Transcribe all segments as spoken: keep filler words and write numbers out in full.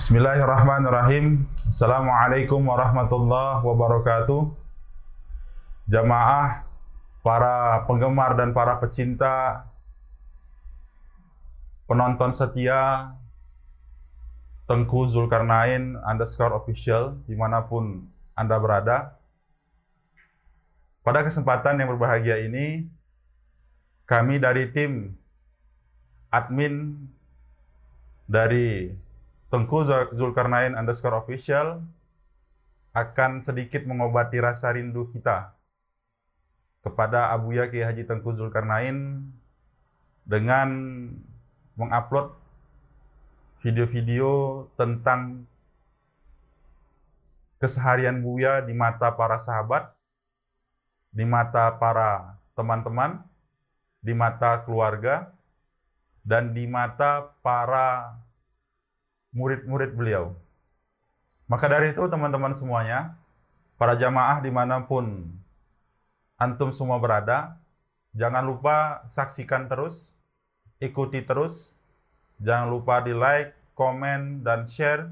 Bismillahirrahmanirrahim. Assalamualaikum warahmatullahi wabarakatuh. Jamaah, para penggemar dan para pecinta, penonton setia Tengku Zulkarnain underscore official dimanapun Anda berada. Pada kesempatan yang berbahagia ini, kami dari tim admin dari Tengku Zulkarnain underscore official akan sedikit mengobati rasa rindu kita kepada Abuya Kiai Haji Tengku Zulkarnain dengan mengupload video-video tentang keseharian Buya di mata para sahabat, di mata para teman-teman, di mata keluarga, dan di mata para murid-murid beliau. Maka dari itu teman-teman semuanya, para jamaah dimanapun antum semua berada, jangan lupa saksikan terus, ikuti terus, jangan lupa di like, komen, dan share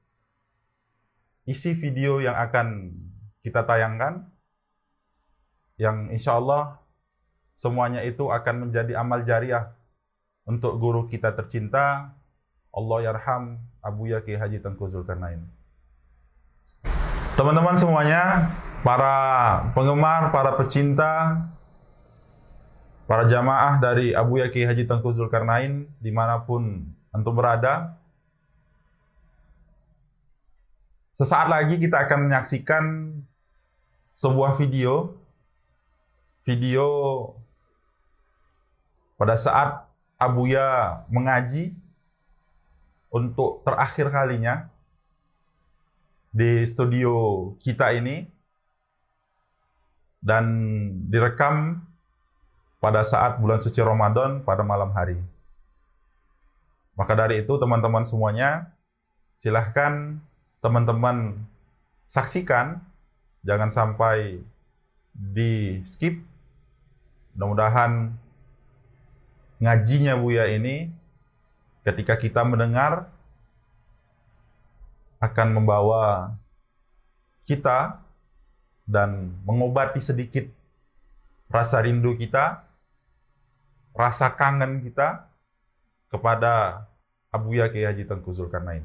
isi video yang akan kita tayangkan, yang insya Allah semuanya itu akan menjadi amal jariah untuk guru kita tercinta, Allah yarham Abuya Kiai Haji Tengku Zulkarnain. Teman-teman semuanya, para penggemar, para pecinta, para jamaah dari Abuya Kiai Haji Tengku Zulkarnain dimanapun antum berada, sesaat lagi kita akan menyaksikan sebuah video video pada saat Abuya mengaji untuk terakhir kalinya di studio kita ini, dan direkam pada saat bulan suci Ramadan pada malam hari. Maka dari itu teman-teman semuanya, silahkan teman-teman saksikan, jangan sampai di skip. Mudah-mudahan ngajinya Buya ini ketika kita mendengar akan membawa kita dan mengobati sedikit rasa rindu kita, rasa kangen kita kepada Abuya Kiai Haji Tengku Zulkarnain.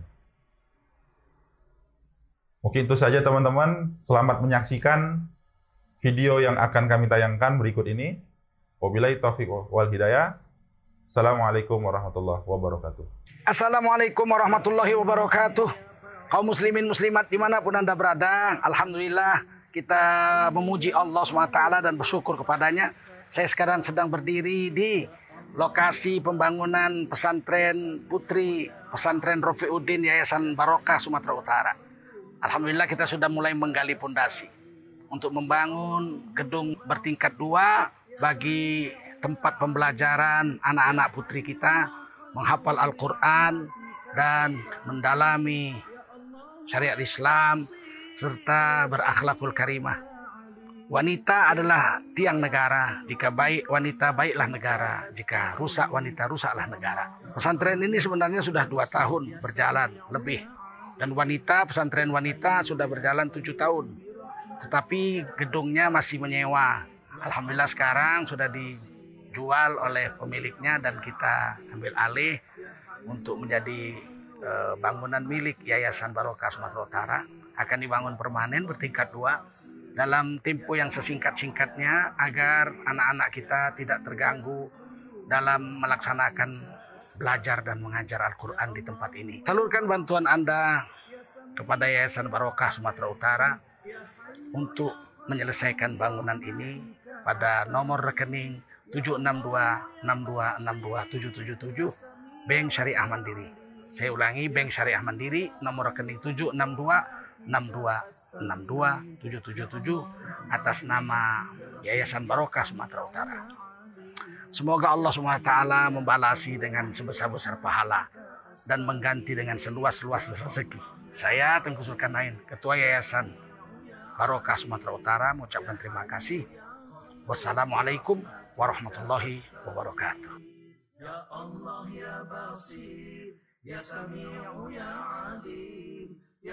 Mungkin itu saja teman-teman, selamat menyaksikan video yang akan kami tayangkan berikut ini. Wabillahi taufiq wal hidayah. Assalamualaikum warahmatullahi wabarakatuh. Assalamualaikum warahmatullahi wabarakatuh. Kaum muslimin muslimat dimanapun Anda berada, alhamdulillah kita memuji Allah subhanahu wa taala dan bersyukur kepadanya. Saya sekarang sedang berdiri di lokasi pembangunan pesantren putri pesantren Rofiuddin Yayasan Barokah Sumatera Utara. Alhamdulillah kita sudah mulai menggali pondasi untuk membangun gedung bertingkat dua bagi tempat pembelajaran anak-anak putri kita menghafal Al-Quran dan mendalami syariat Islam serta berakhlakul karimah. Wanita adalah tiang negara. Jika baik wanita, baiklah negara. Jika rusak wanita, rusaklah negara. Pesantren ini sebenarnya sudah dua tahun berjalan lebih. Dan wanita, pesantren wanita sudah berjalan tujuh tahun. Tetapi gedungnya masih menyewa. Alhamdulillah sekarang sudah dijual oleh pemiliknya dan kita ambil alih untuk menjadi e, bangunan milik Yayasan Barokah Sumatera Utara. Akan dibangun permanen bertingkat dua dalam tempo yang sesingkat-singkatnya agar anak-anak kita tidak terganggu dalam melaksanakan belajar dan mengajar Al-Quran di tempat ini. Salurkan bantuan Anda kepada Yayasan Barokah Sumatera Utara untuk menyelesaikan bangunan ini pada nomor rekening tujuh enam dua enam dua enam dua tujuh tujuh tujuh Bank Syariah Mandiri. Saya ulangi, Bank Syariah Mandiri, nomor rekening tujuh enam dua enam dua enam dua tujuh tujuh tujuh atas nama Yayasan Barokah Sumatera Utara. Semoga Allah subhanahu wa taala membalasi dengan sebesar-besar pahala dan mengganti dengan seluas-luas rezeki. Saya Tengku Zulkarnain, Ketua Yayasan Barokah Sumatera Utara, mengucapkan terima kasih. Wassalamualaikum warahmatullahi wabarakatuh. Ya Allah ya Basir, ya Sami'u ya Alim.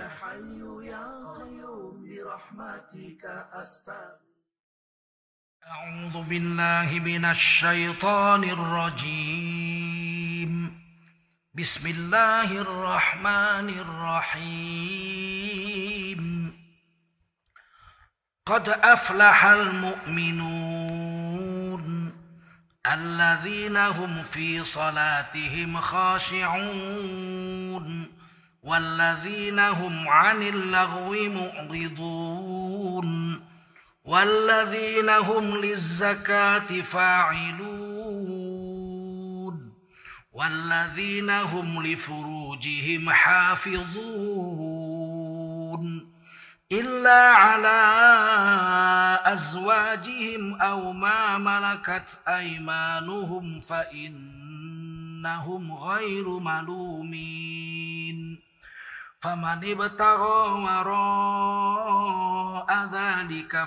حي يا قيوم برحمتك أستغيث. أعوذ بالله من الشيطان الرجيم. بسم الله الرحمن الرحيم. قد أفلح المؤمنون الذين هم في صلاتهم خاشعون والذين هم عن اللغو معرضون والذين هم للزكاة فاعلون والذين هم لفروجهم حافظون إلا على أزواجهم أو ما ملكت أيمانهم فإنهم غير ملومين فمن ابتغى وراء ذلك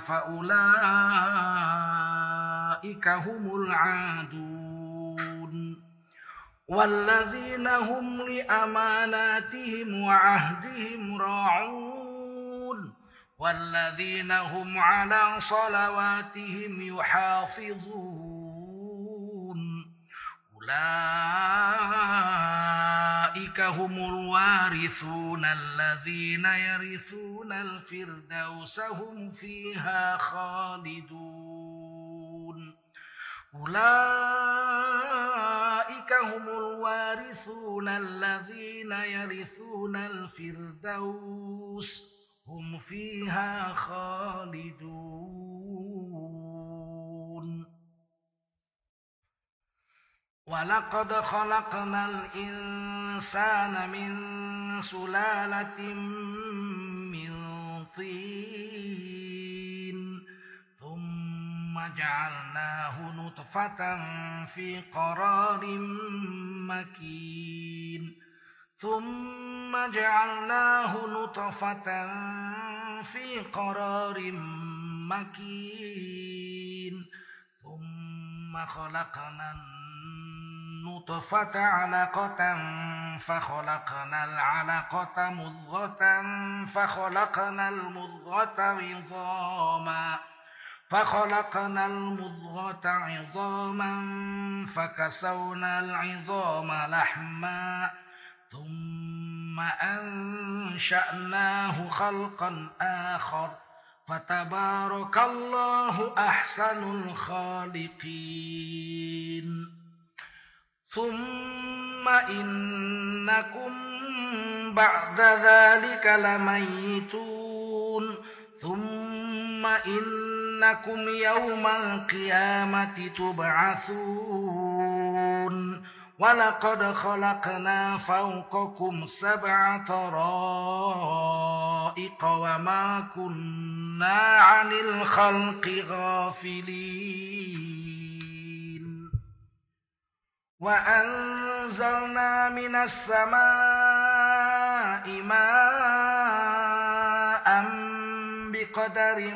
فأولئك هم العادون والذين هم لأماناتهم وعهدهم راعون والذين هم على صلواتهم يحافظون أولئك هم الوارثون الذين يرثون الفردوس هم فيها خالدون أولئك هم الوارثون الذين يرثون الفردوس هم فيها خالدون ولقد خلقنا الإنسان من سلالة من طين ثم جعلناه نطفة في قرار مكين ثم جعلناه نطفة في قرار مكين ثم خلقنا النطفة علقة فخلقنا العلقة مضغة فخلقنا المضغة عظاما فخلقنا المضغة عظاما فكسونا العظام لحما ثم أنشأناه خلقا آخر فتبارك الله أحسن الخالقين ثم إنكم بعد ذلك لميتون ثم إنكم يوم القيامة تبعثون ولقد خلقنا فوقكم سبع طرائق وما كنا عن الخلق غافلين وأنزلنا من السماء ماء بقدر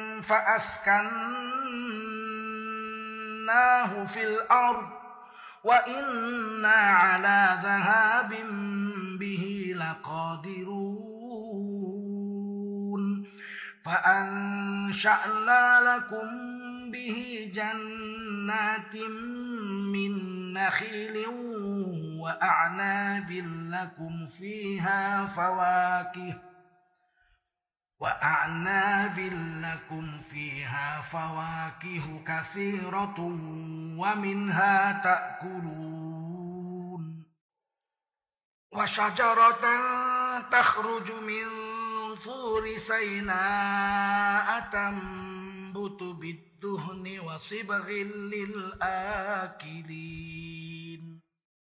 فأسكناه في الأرض وإنا على ذهاب به لقادرون فأنشأنا لكم به جنات من نخيل وأعناب لكم فيها فواكه وأعناب لكم فيها فواكه كثيرة ومنها تأكلون وشجرة تخرج من طور سيناء تنبت بالدهن وصبغ للآكلين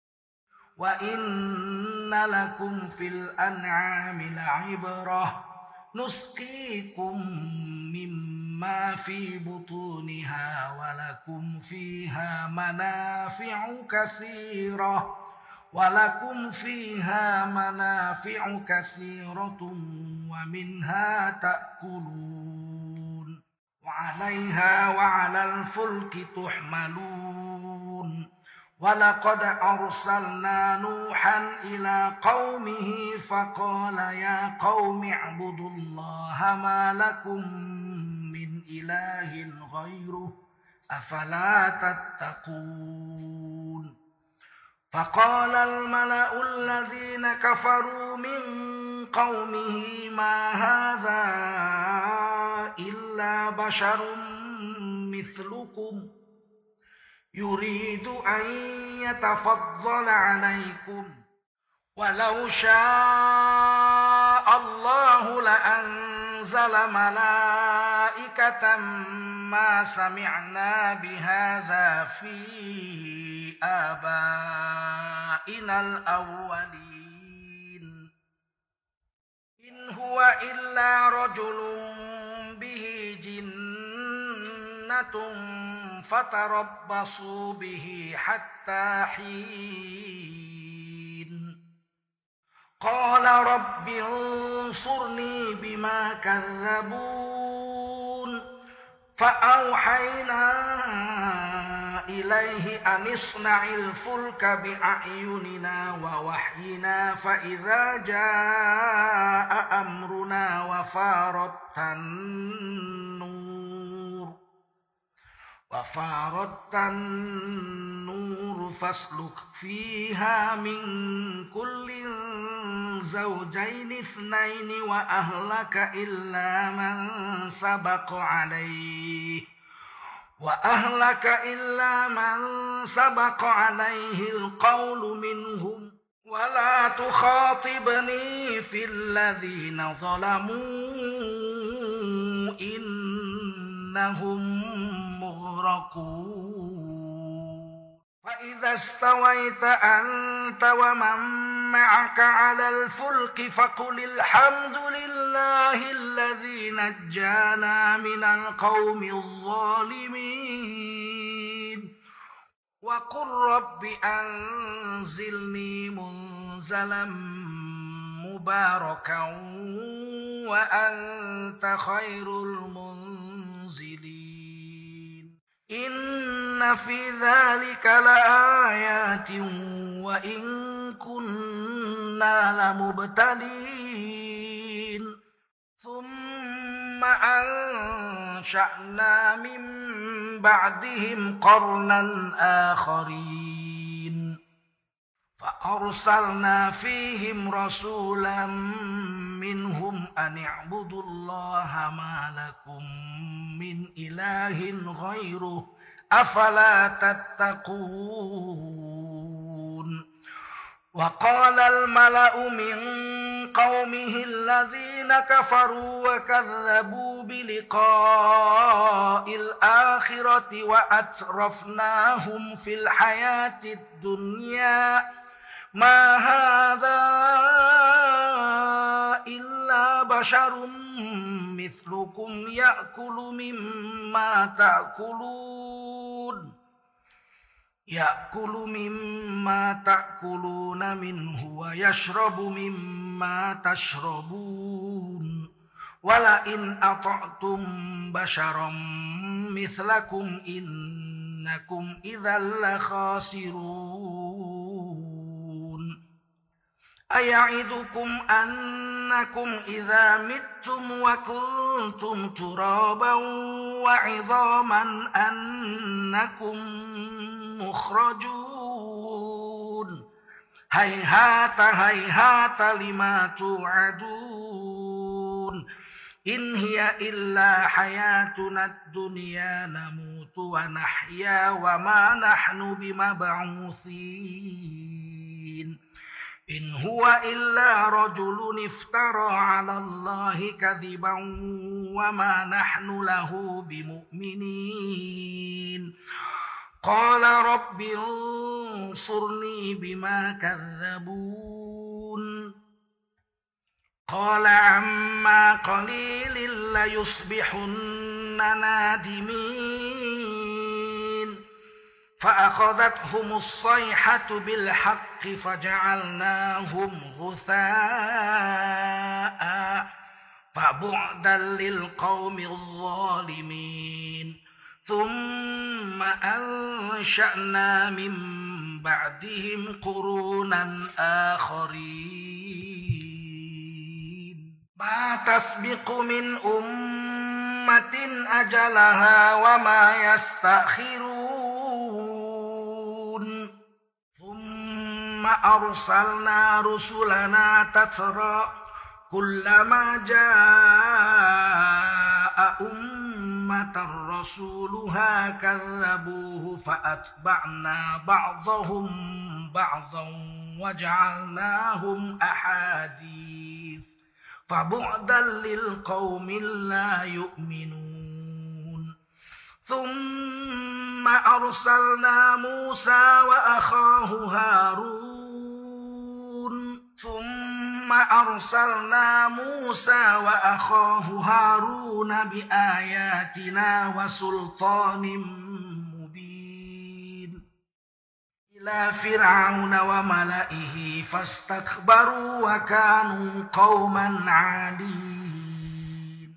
وإن لكم في الأنعام لعبرة نسقيكم مما في بطونها ولكم فيها منافع كثيرة ولكم فيها منافع كثيرة ومنها تأكلون وعليها وعلى الفلك تحملون ولقد أرسلنا نوحا إلى قومه فقال يا قوم اعبدوا الله ما لكم من إله غيره أفلا تتقون فقال الملأ الذين كفروا من قومه ما هذا إلا بشر مثلكم يريد أن يتفضل عليكم ولو شاء الله لأنزل ملائكة ما سمعنا بهذا في آبائنا الأولين إن هو إلا رجل به جنة فتربصوا به حتى حين قال رب انصرني بما كذبون فأوحينا إليه أن اصنع الفلك بأعيننا ووحينا فإذا جاء أمرنا وفارت النور وفارت النور فاسلك فيها من كل زوجين اثنين وأهلك إلا من سبق عليه وأهلك إلا من سبق عليه القول منهم ولا تخاطبني في الذين ظلموا إنهم مغرقون فإذا استويت أنت ومن معك على الفلك فقل الحمد لله الذي نجانا من القوم الظالمين وقل رب أنزلني منزلا مباركا وأنت خير المنزلين إن في ذلك لآيات وإن كنا لمبتلين ثم أنشأنا من بعدهم قرنا آخرين فأرسلنا فيهم رسولا منهم أن اعبدوا الله ما لكم من إله غيره أفلا تتقون وقال الملأ من قومه الذين كفروا وكذبوا بلقاء الآخرة وأترفناهم في الحياة الدنيا ما هذا إلا بشر مثلكم يأكل مما تأكلون يأكل مما تأكلون منه ويشرب مما تشربون ولئن أطعتم بشرا مثلكم إنكم إذا لخاسرون أيعدكم أنكم إذا متم وكنتم ترابا وعظاما أنكم مخرجون هيهات هيهات لما توعدون إن هي إلا حياتنا الدنيا نموت ونحيا وما نحن بمبعوثين إن هو إلا رجل افترى على الله كذبا وما نحن له بمؤمنين قال رب انصرني بما كذبون قال عما قليل ليصبحن نادمين فأخذتهم الصيحة بالحق فجعلناهم غثاء فبعدا للقوم الظالمين ثم أنشأنا من بعدهم قرونا آخرين ما تسبق من أمة أجلها وما يستأخرون ثم أرسلنا رسلنا تترى كلما جاء أمة رسولها كذبوه فأتبعنا بعضهم بعضا وجعلناهم أحاديث فبعدا للقوم لا يؤمنون ثم أرسلنا موسى وأخاه هارون ثم أرسلنا موسى وأخاه هارون بآياتنا وسلطان مبين إلى فرعون وملئه فاستكبروا وكانوا قوما عالين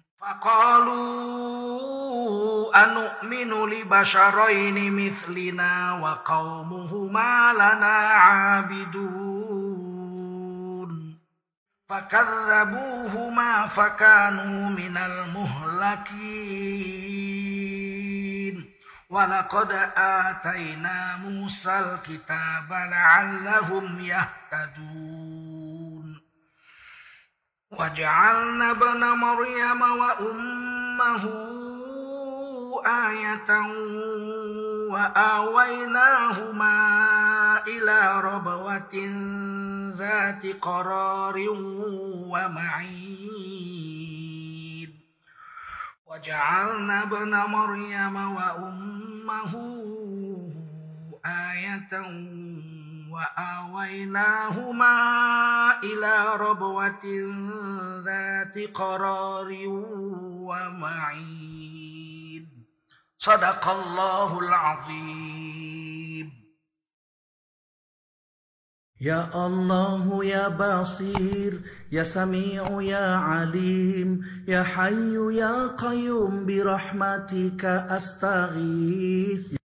فقالوا أنؤمن لبشرين مثلنا وقومهما لنا عابدون فكذبوهما فكانوا من المهلكين ولقد آتينا موسى الكتاب لعلهم يهتدون وجعلنا ابن مريم وأمه آية وآويناهما إلى ربوة ذات قرار ومعين وجعلنا ابن مريم وأمه آية وآويناهما إلى ربوة ذات قرار ومعين صدق الله العظيم. يا الله يا بصير يا سميع يا عليم يا حي يا قيوم برحمتك أستغيث